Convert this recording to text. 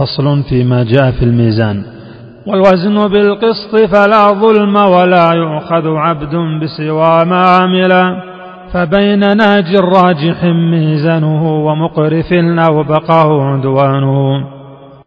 فصل فيما جاء في الميزان. والوزن بالقسط فلا ظلم ولا يؤخذ عبد بسوى ما عمل، فبين ناج راجح ميزانه ومقرف أو بقاه عدوانه.